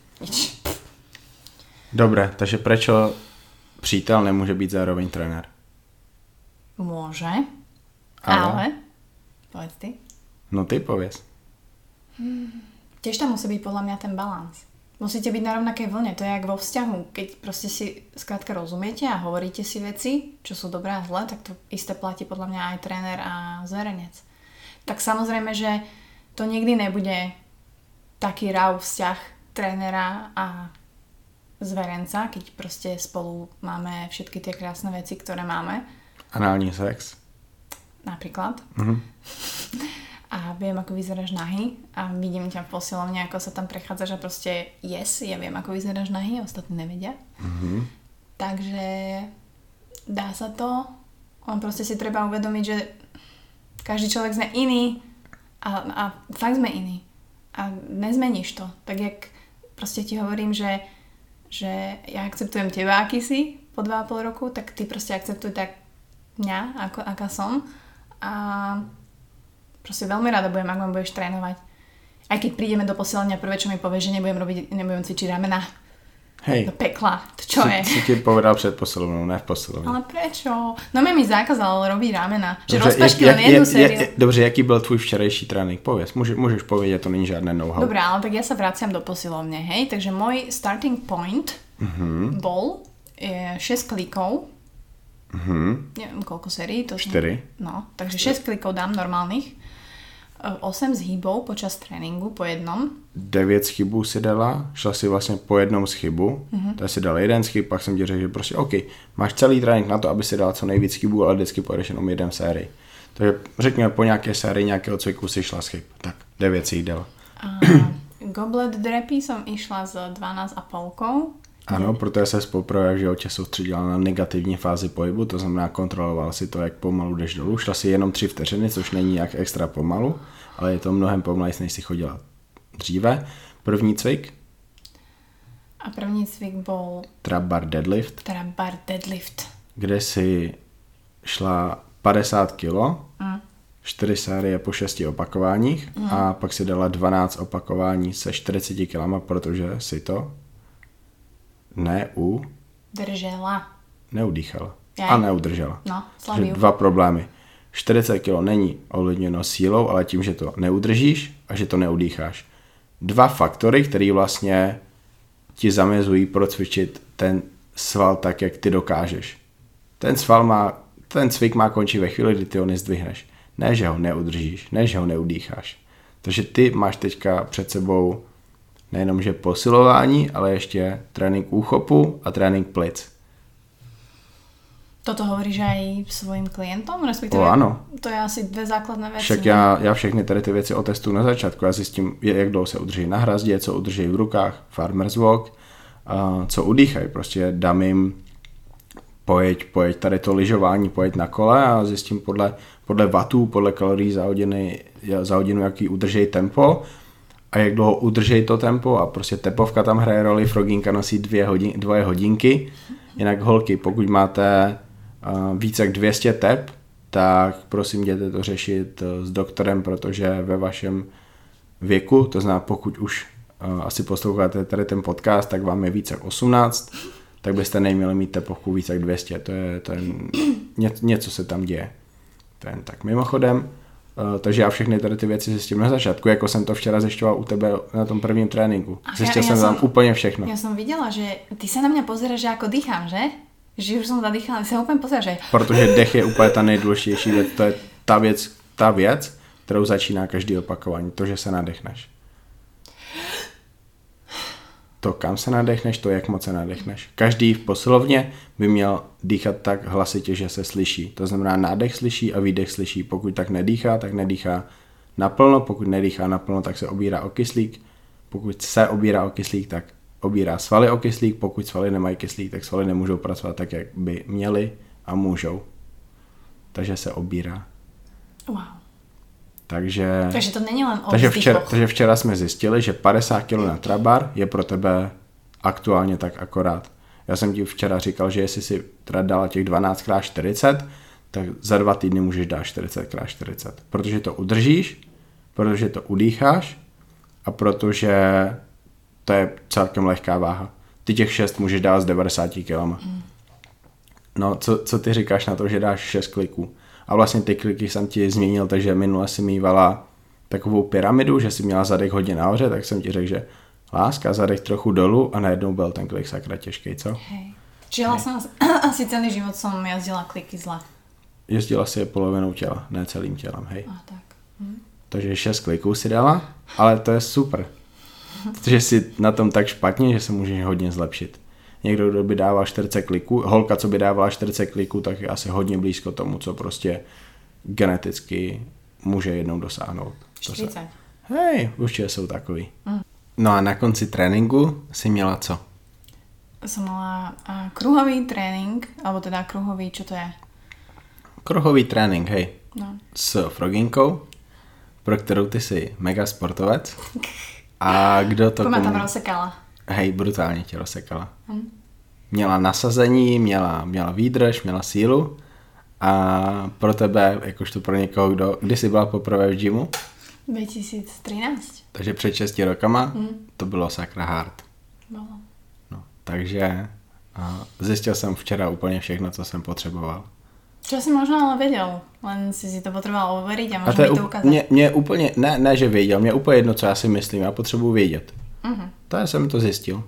Dobre, takže prečo přítel nemůže být zároveň trenér? Môže, ale povedz ty. No ty povedz. Tiež tam musí byť podľa mňa ten balans. Musíte byť na rovnakej vlne, to je jak vo vzťahu. Keď proste si skrátka rozumiete a hovoríte si veci, čo sú dobré a zlé, tak to isté platí podľa mňa aj tréner a zverenec. Tak samozrejme, že to nikdy nebude taký raw vzťah trénera a zverenca, keď proste spolu máme všetky tie krásne veci, ktoré máme. Anální sex. Napríklad. A viem, ako vyzeráš nahý a vidím ťa v posilovni, ako sa tam prechádzaš a proste ja viem, ako vyzeráš nahý, ostatní nevedia. Takže dá sa to, len proste si treba uvedomiť, že každý človek sme iný a fakt sme iní. A nezmeníš to. Tak jak proste ti hovorím, že ja akceptujem teba, aký si po 2,5 roku, tak ty proste akceptuj tak mňa, aká som a proste veľmi rada budem, ak ma budeš trénovať. Aj keď prídeme do posielania, prvé, čo mi povie, že nebudem cvičiť ramena. Hej. Do pekla. To čo je? Si ti povedal před posilovnou, ne v posilovně. Ale prečo? No mi zakázal robiť ramena. Že rozpašky len jednu sériu. Dobře, jaký byl tvůj včerejší trénink? Pověz, můžeš povědět, to není žádné know-how. Dobre, ale tak ja sa vraciam do posilovne, hej? Takže môj starting point bol 6 klikov. Neviem, koľko sérií. 4. No, takže 6 klikov dám normálnych. 8 zhýbov počas tréninku po jednom. 9 schybů si dala, šla si vlastně po jednom schybu, tak si dala jeden schyb, pak jsem ti řekl, že prostě OK, máš celý trénink na to, aby si dala co nejvíc chybů, ale vždycky pojedeš jenom jeden sérii. Takže řekněme, po nějaké sérii nějakého cviku si šla schyb. Tak 9 si jich dala. Goblet drepy som išla s 12,5. Ano, protože se poprvé v životě soustředila na negativní fázi pohybu, to znamená kontroloval si to, jak pomalu jdeš dolů. Šla si jenom 3 vteřiny, což není jak extra pomalu, ale je to mnohem pomalejší, než si chodila dříve. První cvik? A první cvik bol Trap bar deadlift. Kde si šla 50 kg, 4 série po 6 opakováních a pak si dala 12 opakování se 40 kg, protože si to neudýchala. A neudržela. No, Takže 2 problémy. 40 kg není ovlivněno sílou, ale tím, že to neudržíš a že to neudýcháš. 2 faktory, které vlastně ti zamezují procvičit ten sval tak, jak ty dokážeš. Ten cvik má končit ve chvíli, kdy ty ho nezdvihneš. Ne, že ho neudržíš, ne, že ho neudýcháš. Takže ty máš teďka před sebou nejenom, že posilování, ale ještě trénink úchopu a trénink plic. Toto hovoríš aj svojim klientom? Respektíve, ano. To je asi 2 základné věci. Však já všechny tady ty věci otestuju na začátku. Já zjistím, jak dlouho se udrží na hrazdě, co udrží v rukách, farmer's walk, co udýchají. Prostě dám jim pojeď tady to lyžování, pojeď na kole a zjistím podle wattů, podle kalorií za hodinu, jaký udrží tempo a jak dlouho udrží to tempo a prostě tepovka tam hraje roli, frogínka nosí 2 hodinky. Jinak holky, pokud máte více jak 200 tep, tak prosím jděte to řešit s doktorem, protože ve vašem věku, to znamená pokud už asi posloucháte tady ten podcast, tak vám je více jak 18, tak byste neměli mít tepovku více jak 200, to je něco se tam děje. To je jen tak mimochodem. Takže já všechny tady ty věci zjistím na začátku, jako jsem to včera zjišťoval u tebe na tom prvním tréninku. Zjistil jsem tam úplně všechno. Já jsem viděla, že ty se na mě pozeráš, že jako dýchám, že? Že už jsem zadýchala, ty se úplně pozeráš, že? Protože dech je úplně ta nejdůležitější věc, to je ta věc, kterou začíná každý opakování, to, že se nadechneš. To, kam se nadechneš, to, jak moc se nadechneš. Každý v posilovně by měl dýchat tak hlasitě, že se slyší. To znamená, nádech slyší a výdech slyší. Pokud tak nedýchá naplno. Pokud nedýchá naplno, tak se obírá o kyslík. Pokud se obírá o kyslík, tak obírá svaly o kyslík. Pokud svaly nemají kyslík, tak svaly nemůžou pracovat tak, jak by měly a můžou. Takže se obírá. Wow. Takže to není len o vzdychoch. Takže včera jsme zjistili, že 50 kg na trabar je pro tebe aktuálně tak akorát. Já jsem ti včera říkal, že jestli si teda dala těch 12x40, tak za 2 týdny můžeš dát 40x40. Protože to udržíš, protože to udýcháš a protože to je celkem lehká váha. Ty těch 6 můžeš dát s 90 kg. No, co ty říkáš na to, že dáš 6 kliků? A vlastně ty kliky jsem ti změnil, takže minule si mývala takovou pyramidu, že si měla zadek hodně nahoře, tak jsem ti řekl, že láska, zadek trochu dolů a najednou byl ten klik sakra těžký, co? Hej. Čiže vlastně asi celý život jsem jazdila kliky zle. Jezdila si je polovinou těla, ne celým tělem, hej. A tak. Takže 6 kliků si dala, ale to je super. Protože si na tom tak špatně, že se můžeš hodně zlepšit. Někdo, kdo by dával 40 kliků, holka, co by dávala 40 kliků, tak je asi hodně blízko tomu, co prostě geneticky může jednou dosáhnout. 40. Hej, určitě jsou takový. No a na konci tréninku si měla co? Som mala kruhový trénink, alebo teda kruhový, čo to je? Kruhový trénink, hej. No. S Froginkou, pro kterou ty jsi mega sportovec. A kdo to Komu... tam rozsekala. Hej, brutálně tě rozsekala. Měla nasazení, měla výdrž, měla sílu A pro tebe, jakožto pro někoho, kdy jsi byla poprvé v gymu? 2013. Takže před 6 rokama to bylo sakra hard. Bolo. No, takže zjistil jsem včera úplně všechno, co jsem potřeboval. Čo si možno ale vedel, len si to potreboval overiť a možno mi to ukázať. Mě úplně, ne, že věděl, mě úplně jedno, co já si myslím, já potřebuji vědět. To já jsem to zjistil.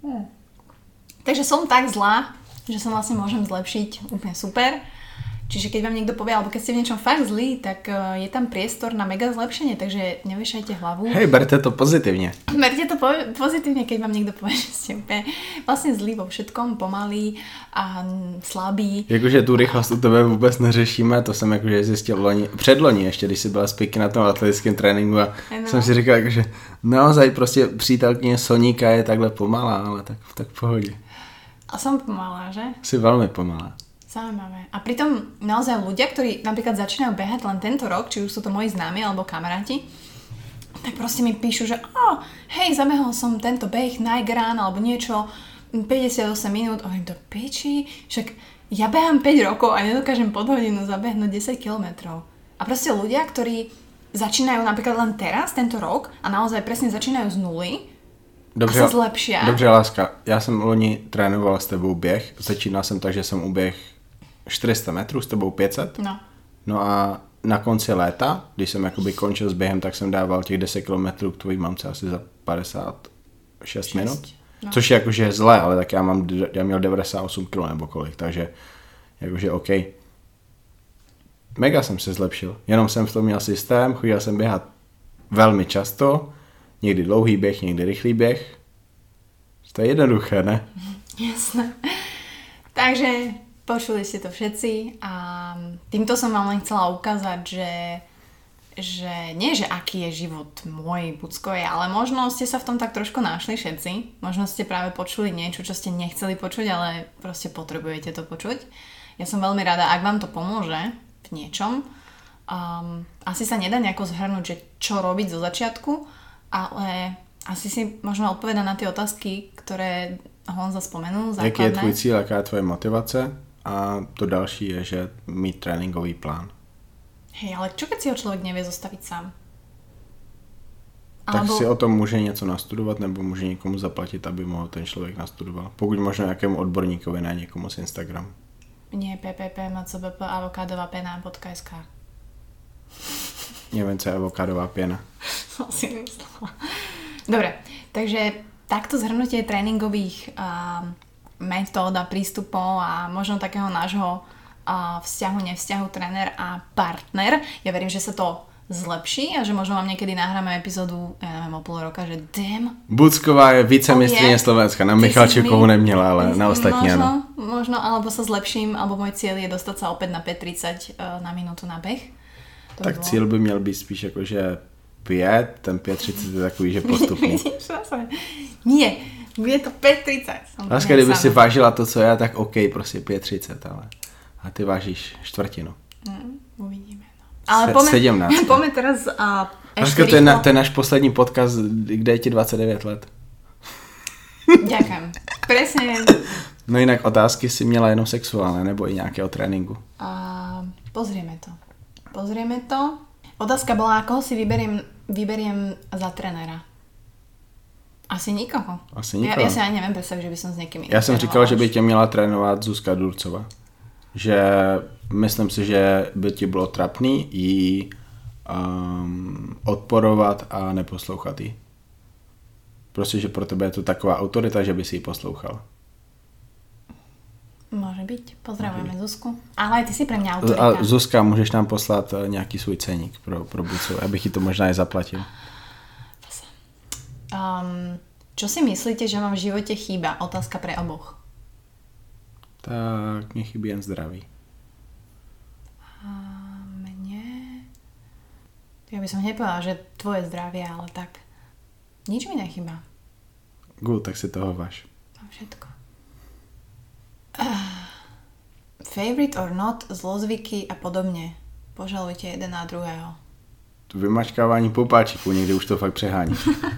Takže som tak zlá, že sa vlastne môžem zlepšiť, úplne super. Čiže keď vám niekto povie, alebo keď ste v niečom fakt zlí, tak je tam priestor na mega zlepšenie, takže nevyšajte hlavu. Hej, berte to pozitivně. Berte to pozitívne, keď vám niekto povie, že ste úplne vlastne zlí vo všetkom, pomalí a slabí. Jakože tu rychlost u tebe vůbec neřešíme, to jsem jakože zjistil předloni ještě, když jsi byla zpěky na tom atletickém tréninku a jsem si říkal, jakože naozaj prostě přítelkyně Soníka je takhle pomalá, ale tak v pohodě. A som pomalá, že? Si veľmi pomalá. Zaujímavé. A pritom naozaj ľudia, ktorí napríklad začínajú behať len tento rok, či už sú to moji známi alebo kamaráti, tak proste mi píšu, že hej, zabehol som tento beh Niagara alebo niečo 58 minút. Hovorím, to piči, však ja behám 5 rokov a nedokážem pod hodinu zabehnúť 10 kilometrov. A proste ľudia, ktorí začínajú napríklad len teraz, tento rok a naozaj presne začínajú z nuly, Dobře, a se zlepšia. Dobře, láska. Já jsem loni trénoval s tebou běh. Začínal jsem tak, že jsem uběh 400 metrů, s tebou 500. No a na konci léta, když jsem jakoby končil s během, tak jsem dával těch 10 kilometrů k tvojí mamce asi za 56 minut. No. Což je jakože zlé, ale tak já měl 98 kg nebo kolik, takže jakože OK. Mega jsem se zlepšil. Jenom jsem v tom měl systém, chodil jsem běhat velmi často. Někdy dlouhý běh, někdy rychlý běh. To je jednoduché, ne? Jasné. Takže počuli ste to všetci a týmto som vám len chcela ukázať, že nie, že aký je život môj Buckovej, ale možno ste sa v tom tak trošku našli všetci. Možno ste práve počuli niečo, čo ste nechceli počuť, ale proste potrebujete to počuť. Ja som veľmi rada, ak vám to pomôže v niečom. Asi sa nedá nejako zhrnúť, že čo robiť zo začiatku, ale asi si možno odpovedať na tie otázky, ktoré Honza spomenul, základné. Jaký je tvůj cíl, jaká je tvoje motivace? A to další je, že mít tréninkový plán. Hej, ale čo keď si ho človek nevie zostaviť sám? Tak si o tom může něco nastudovat, nebo může někomu zaplatit, aby mohl ten člověk nastudoval. Pokud možno nějakému odborníkovi, ne někomu z Instagramu. Nie, ppp.avokadovapena.sk. Neviem, co je avokádová pěna. Si myslela. Dobre, takže takto zhrnutie tréningových metód a prístupov a možno takého nášho vzťahu, nevzťahu, tréner a partner. Ja verím, že sa to zlepší a že možno vám niekedy nahráme epizódu, ja neviem, o pol roka, že Bucková je vicemistryně Slovenska. Na Michalčíkovou neměla, ale na ostatní ano. Možno, alebo sa zlepším, alebo môj cieľ je dostať sa opäť na 5:30 na minútu na beh. Tak by cíl by měl být spíš jakože 5, ten 5:30 je takový, že postupný. Nie, bude to 5:30. Láska, kdyby si vážila to, co já, tak OK, prostě 5:30, ale a ty vážíš čtvrtinu. Uvidíme. No. Ale poďme teraz Láska, to je náš poslední podcast, kde je ti 29 let. Ďakujem. Presne. No jinak otázky si měla jenom sexuálne, nebo i nějaké o tréninku? Pozrieme to. Otázka bola, koho si vyberiem za trénera. Asi nikoho. Ja si ani neviem predstaviť, že by som s niekým iným. Já jsem říkal, že by tě měla trénovat Zuzka Durcová. Že myslím si, že by ti bylo trapný jí odporovat a neposlouchat jí. Prostě, že pro tebe je to taková autorita, že by si ji poslouchal. Môže byť. Pozdravujeme Zuzku. Ale aj ty si pre mňa autorita. A Zuzka, můžeš nám poslat nějaký svůj ceník pro Bucu, abych ti to možná i zaplatil. Čo si myslíte, že vám v živote chýba? Otázka pre oboch. Tak mne chybí jen zdraví. A mne? Ja by som nepovedala, že tvoje zdravie, ale tak nič mi nechýba. Good, tak si toho váš. Mám všetko. Favorite or not, zlozvyky a podobne. Požalujte jeden na druhého. Vymačkávání popáčiků, někdy už to fakt přehání.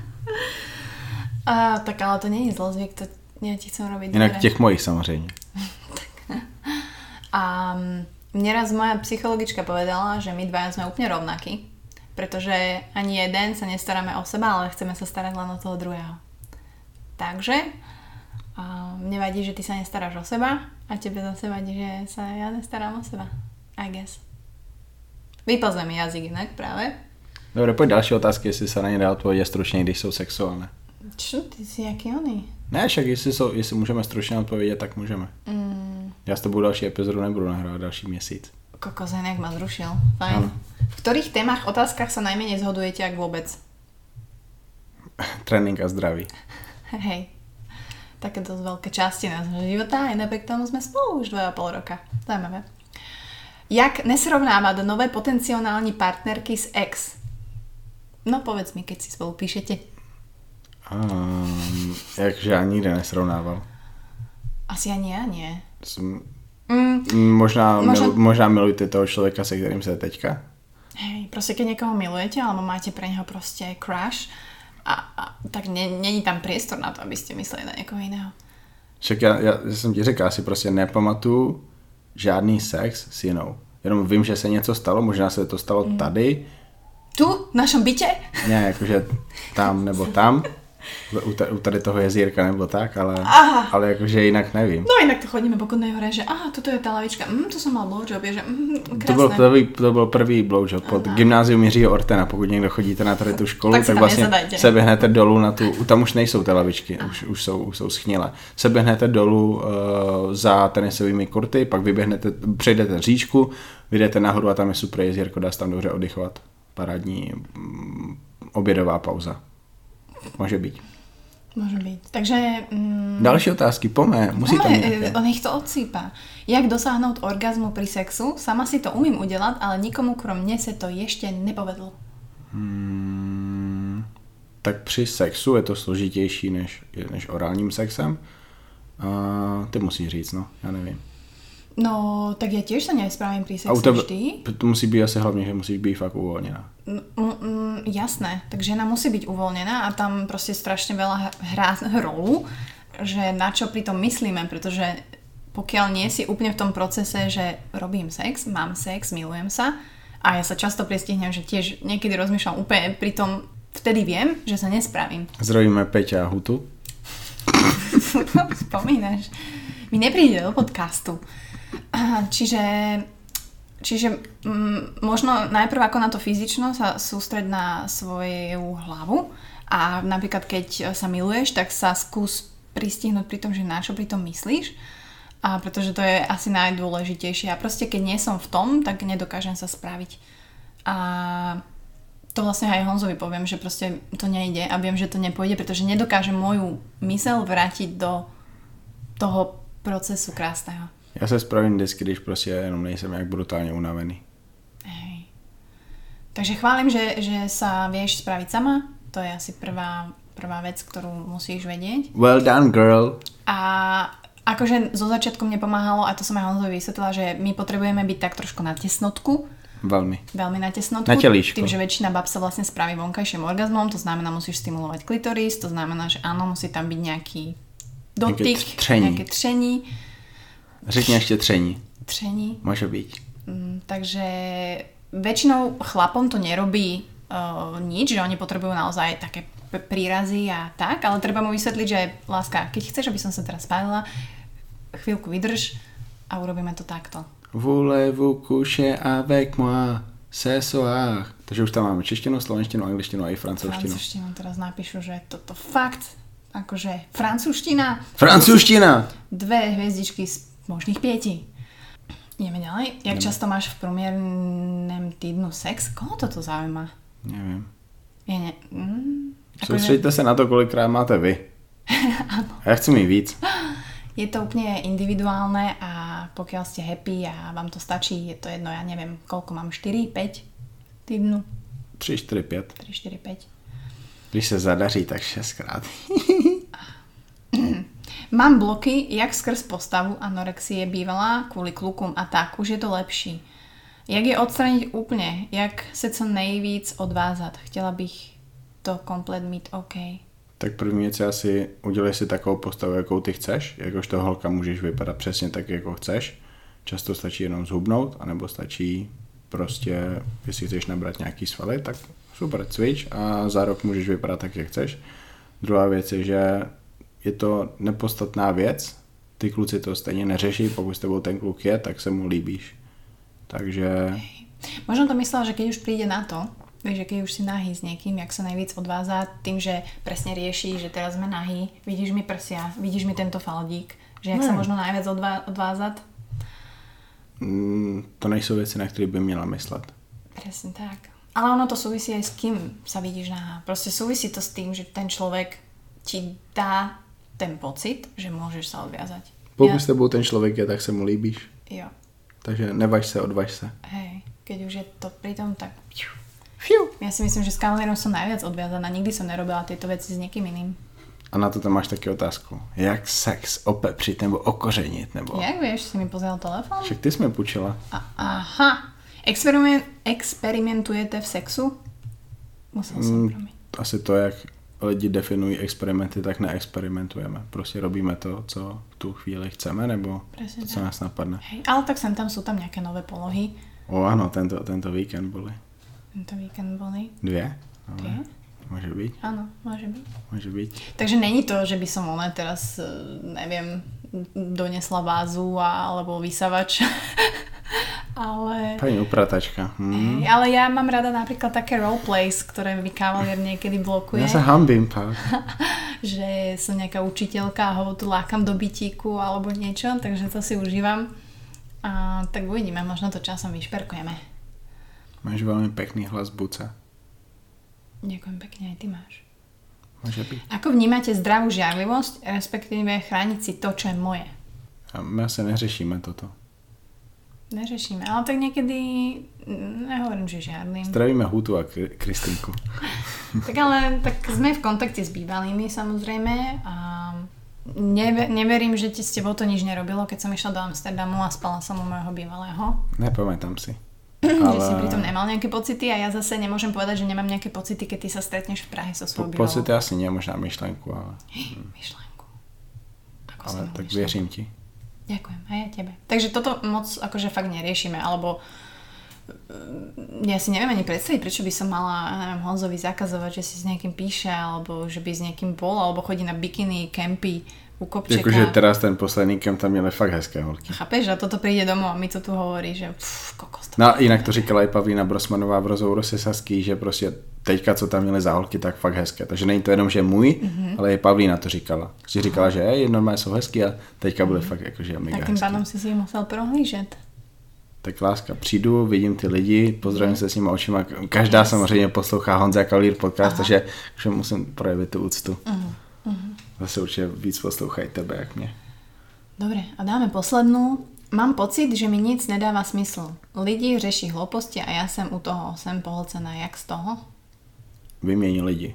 Tak ale to není zlozvyk, to ja ti chcem robiť jinak dobre. těch mojich samozřejmě. Mne raz moja psychologička povedala, že my dvaja sme úplne rovnakí, pretože ani jeden sa nestaráme o seba, ale chceme sa starať len o toho druhého. Takže mne vadí, že ty sa nestaráš o seba a tebe zase vadí, že sa ja nestarám o seba. I guess. Vyplzne mi jazyk inak práve. Dobre, pojď další otázky, jestli se na ně dá odpovědět stručně, když jsou sexuálne. Čo, ty si jaký oný? Ne, však jestli můžeme stručně odpovědět, tak můžeme. Já s tebou další epizodu nebudu nahrávat další měsíc. Kokos, inak ma zrušil. Fajn. V ktorých témach, otázkach sa najmenej zhodujete, ak vôbec? Trénink a zdraví. Hej. Také dosť veľké časti nášho života a napriek tomu sme spolu už 2,5 roka. Zajímavé. Jak nesrovnávať nové potenciálne partnerky s ex? No povedz mi, keď si spolu píšete. Jakže ani nikde nesrovnával. Asi ani ja nie. Možná milujete toho človeka, se kterým se teďka? Hej, proste keď niekoho milujete, alebo máte pre neho proste crush, tak není tam priestor na to, aby ste mysleli na niekoho iného. Však já jsem ti řekl, si prostě nepamatuju žádný sex s jinou. Jenom vím, že se něco stalo, možná se to stalo tady. Tu? V našom byte? Ne, jakože tam nebo tam. U tady toho jezírka nebo tak, ale jakože jinak nevím. No inak to chodíme po Kudnej hore, že tuto je tá lavička, tu som mal blowjob, je, že krásne. To byl prvý blowjob pod gymnázium Jiřího Ortena, pokud někdo chodíte na tady tu školu, tak vlastně se běhnete dolů na tu, tam už nejsou ty lavičky, už jsou schnilé. Se běhnete dolů za tenisovými kurty, pak přejdete říčku, vyjdete nahoru a tam je super jezírko, dá se tam dobře oddychovat. Parádní obědová pauza. Môže byť. Takže... Další otázky, musí tam nejaké. On ich to odsýpa. Jak dosáhnout orgazmu pri sexu? Sama si to umím udělat, ale nikomu krom mne se to ještě nepovedlo. Tak při sexu je to složitější než orálním sexem. Ty musíš říct, no, já nevím. No, tak ja tiež sa nespravím pri sexe vždy. To musí byť asi hlavne, že musíš byť fakt uvoľnená. Jasné, tak žena musí byť uvoľnená a tam proste strašne veľa hrá rolu, že na čo pri tom myslíme, pretože pokiaľ nie si úplne v tom procese, že robím sex, mám sex, milujem sa a ja sa často pristihnem, že tiež niekedy rozmýšľam úplne pri tom, vtedy viem, že sa nespravím. Zdravíme Peťa a Hutu. Spomínaš. Mi nepríde do podcastu. Čiže možno najprv ako na to fyzično sa sústreď na svoju hlavu a napríklad keď sa miluješ, tak sa skús pristihnúť pri tom, že na čo pri tom myslíš, a pretože to je asi najdôležitejšie a proste keď nie som v tom, tak nedokážem sa spraviť. A to vlastne aj Honzovi poviem, že proste to nejde a viem, že to nepôjde, pretože nedokážem moju myseľ vrátiť do toho procesu krásného. Já se spravím vždycky, když prostě jenom nejsem jak brutálně unavený. Hej. Takže chválim, že sa vieš spraviť sama. To je asi prvá vec, ktorú musíš vedieť. Well done, girl. A akože zo začiatku mne pomáhalo, a to som aj Honzovi vysvetlila, že my potrebujeme byť tak trošku na tesnotku. Veľmi na tesnotku. Na telíšku. Tým, že väčšina bab sa vlastne spraví vonkajším orgazmom, to znamená, musíš stimulovať klitoris, to znamená, že áno, musí tam byť nejaký dotyk, nejaké tření. Řekni ešte tření. Tření. Môže byť. Takže väčšinou chlapom to nerobí nič, že oni potrebujú naozaj také prírazy a tak, ale treba mu vysvetliť, že láska, keď chceš, aby som sa teraz spálila, chvíľku vydrž a urobíme to takto. Voulez-vous coucher avec moi ce soir? Takže už tam máme češtinu, slovenštinu, angličtinu a i francúzštinu. Francúzštinu teraz napíšu, že toto fakt, akože francúzština. Francúzština! 2 hviezdičky z možných 5. Ideme ďalej. Jak často máš v promiernem týdnu sex? Koho toto zaujíma? Neviem. Soustředíte sa na to, kolikrát máte vy. A ja chcem mít víc. Je to úplne individuálne a pokiaľ ste happy a vám to stačí, je to jedno, ja neviem, koľko mám, 4, 5 týdnu? 3, 4, 5. 3, 4, 5. Když se zadaří, tak 6krát. Mám bloky, jak skrz postavu, anorexie bývala, kvôli klukom a tak, už je to lepší. Jak je odstraniť úplne? Jak se co nejvíc odvázat? Chtěla bych to komplet mít OK. Tak první věc je asi udělej si takovou postavu, jakou ty chceš. Jakožto holka můžeš vypadat přesně tak, jako chceš. Často stačí jenom zhubnout, anebo stačí prostě, jestli chceš nabrat nějaký svaly, tak super, cvič a za rok můžeš vypadat tak, jak chceš. Druhá věc je, že je to nepodstatná věc, ty kluci to stejně neřeší, pokud s tebou ten kluk je, tak se mu líbíš. Takže... Možno to myslela, že keď už príde na to, vieš, že keď už si nahý s niekým, jak sa najvíc odvádza tým, že presne rieši, že teraz sme nahý, vidíš mi prsia, vidíš mi tento faldík, že jak sa možno najviac odvázať? To nejsou věci, na které by měla myslet. Presne tak. Ale ono to súvisí aj s kým sa vidíš nahá. Proste súvisí to s tým, že ten človek ti dá ten pocit, že môžeš sa odviazať. Pokud s tebou ten človek je, tak se mu líbíš. Jo. Takže nevaž se, odvaž se. Hej, keď už je to pri tom, tak... Fiu. Ja si myslím, že s kavalierom som najviac odviazaná. Nikdy som nerobila tieto veci s niekým iným. A na to tam máš taky otázku. Jak sex opepřit nebo okořenit? Nebo... Jak vieš, si mi pozeral telefón? Však ty jsi mi půjčila. Aha. Experimentujete v sexu? Musel som promiť. Asi to, jak lidi definují experimenty, tak neexperimentujeme. Prostě robíme to, co v tu chvíli chceme, nebo Presne to, co nás napadne. Hej, ale tak sem tam sú tam nejaké nové polohy. Áno, tento víkend boli. Tento víkend boli. 2? Dve? Môže byť. Áno, môže byť. Môže byť. Takže není to, že by som teraz, neviem, donesla vázu alebo vysavač. Ale... Pani upratačka. Ale ja mám rada napríklad také roleplays, ktoré mi kavalier niekedy blokuje. Ja sa hambím, pán. Že som nejaká učiteľka a ho tu lákam do bytíku alebo niečo, takže to si užívam. A tak uvidíme, možno to časom vyšperkujeme. Máš veľmi pekný hlas, Buca. Ďakujem pekne, aj ty máš. Môže byť. Ako vnímate zdravú žiarlivosť, respektíve chrániť si to, čo je moje? A my asi neřešíme toto. Neřešíme, ale tak niekedy nehovorím, že žiarlim. Zdravíme Hutu a Kristinku. Tak ale tak sme v kontakte s bývalými samozrejme a neverím, že s tebou to nič nerobilo, keď som išla do Amsterdamu a spala som u môjho bývalého. Nepamätám si. Že si pritom nemal nejaké pocity a ja zase nemôžem povedať, že nemám nejaké pocity, keď ty sa stretneš v Prahe so svojou bývalou. Pocity asi nie, možná myšlenku, ale... Myšlenku. Ale tak věřím ti. Ďakujem, aj ja tebe. Takže toto moc akože fakt neriešime, alebo ja si neviem ani predstaviť, prečo by som mala, neviem, Honzovi zakazovať, že si s niekým píše, alebo že by s niekým bol, alebo chodí na bikiny, kempy u kopčeka. Jakože teraz ten posledný kemp tam měli fakt hezké holky. Chápeš? A toto príde domov a mi to tu hovorí, že kokos. No jinak to říkala i Pavlína Brosmanová v rozhovoru se Saský, že prostě teďka, co tam měli za holky, tak fakt hezké. Takže není to jenom, že můj, ale i Pavlína to říkala. Že říkala, že normálně jsou hezký a teďka byly fakt jakože mega tak tým hezký. pádom si si musel prohlížet. Tak láska, přijdu, vidím ty lidi, pozdravím se s nimi očima. Každá samozřejmě poslouchá Honza Kavalír podcast, takže musím projevit tu úctu. Zase určitě víc poslouchají tebe, jak mě. Dobre, a dáme poslednú. Mám pocit, že mi nic nedáva smysl. Lidi řeší hlouposti a ja som u toho, som pohlcená. Jak z toho? Vymění lidi.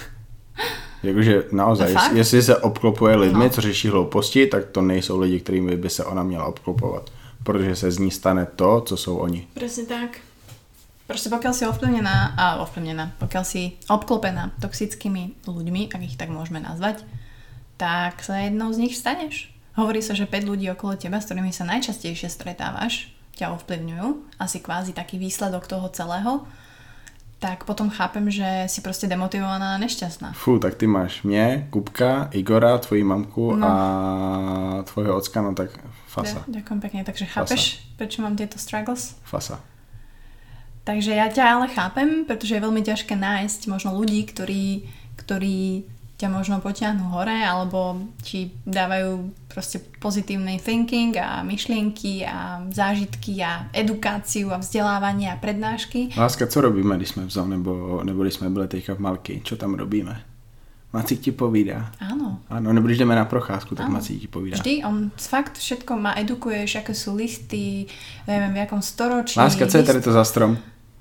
Jakože naozaj, jestli se obklopuje lidmi, co řeší hlouposti, tak to nejsou lidi, kterými by se ona měla obklopovat. Protože se z ní stane to, co jsou oni. Presne tak. Proste pokiaľ si pokiaľ si obklopená toxickými ľuďmi, ak ich tak môžeme nazvať, tak sa jednou z nich staneš. Hovorí sa, že 5 ľudí okolo teba, s ktorými sa najčastejšie stretávaš, ťa ovplyvňujú, asi kvázi taký výsledok toho celého, tak potom chápem, že si proste demotivovaná a nešťastná. Fú, tak ty máš mě, Kupka, Igora, tvoji mamku a tvojho ocka, no tak fasa. Ďakujem pekne, takže chápeš, prečo mám tieto struggles? Fasa. Takže ja ťa ale chápem, pretože je veľmi ťažké nájsť možno ľudí, ktorí ťa možno potiahnu hore alebo ti dávajú proste pozitívny thinking a myšlienky a zážitky a edukáciu a vzdelávanie a prednášky. Láska, co robíme, když jsme v zoo, nebo když jsme byli teďka v Malky? Čo tam robíme? Macík ti povídá. Áno. Áno, nebo když jdeme na procházku, tak Macík ti povídá. Vždy, on fakt všetko ma edukuješ, aké sú listy, neviem, v jakom storočí. Láska, co je tady to za strom?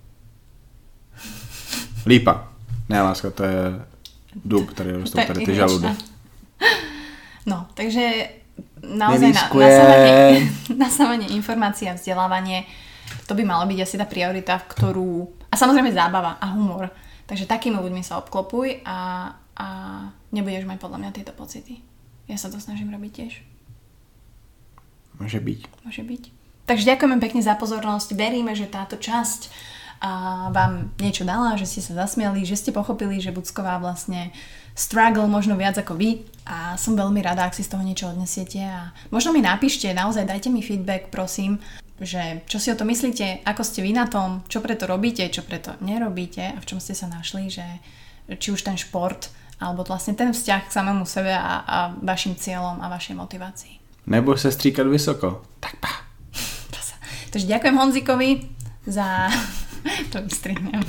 Lípa. Ne, láska, to je dub, který rostou tady ty žaludy. No, takže naozaj nasávanie informácií a vzdelávanie, to by malo byť asi tá priorita, ktorú... A samozrejme zábava a humor. Takže takými ľuďmi sa obklopuj a nebudeš mať podľa mňa tieto pocity. Ja sa to snažím robiť tiež. Môže byť. Môže byť. Takže ďakujeme pekne za pozornosť. Veríme, že táto časť vám niečo dala, že ste sa zasmiali, že ste pochopili, že Bucková vlastne struggle možno viac ako vy a som veľmi rada, ak si z toho niečo odnesiete a možno mi napíšte, naozaj dajte mi feedback, prosím, že čo si o to myslíte, ako ste vy na tom, čo preto robíte, čo preto nerobíte a v čom ste sa našli, že či už ten šport alebo vlastne ten vzťah k samému sebe a vašim cieľom a vašej motivácii. Nebo sa stříkať vysoko. Tak pa. Takže ďakujem Honzikovi za... to vystrihnem.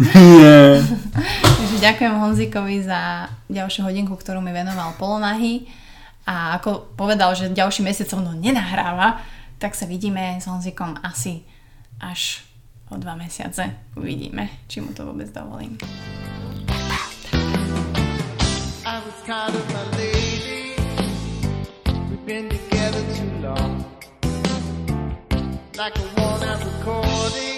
Takže ďakujem Honzikovi za ďalšiu hodinku, ktorú mi venoval polonahy a ako povedal, že ďalší mesiac so mnou nenahráva, tak sa vidíme s Honzikom asi až o 2 mesiace. Uvidíme, či mu to vôbec dovolím. I was kind of my lady. We've been together too long. Like a worn out recording.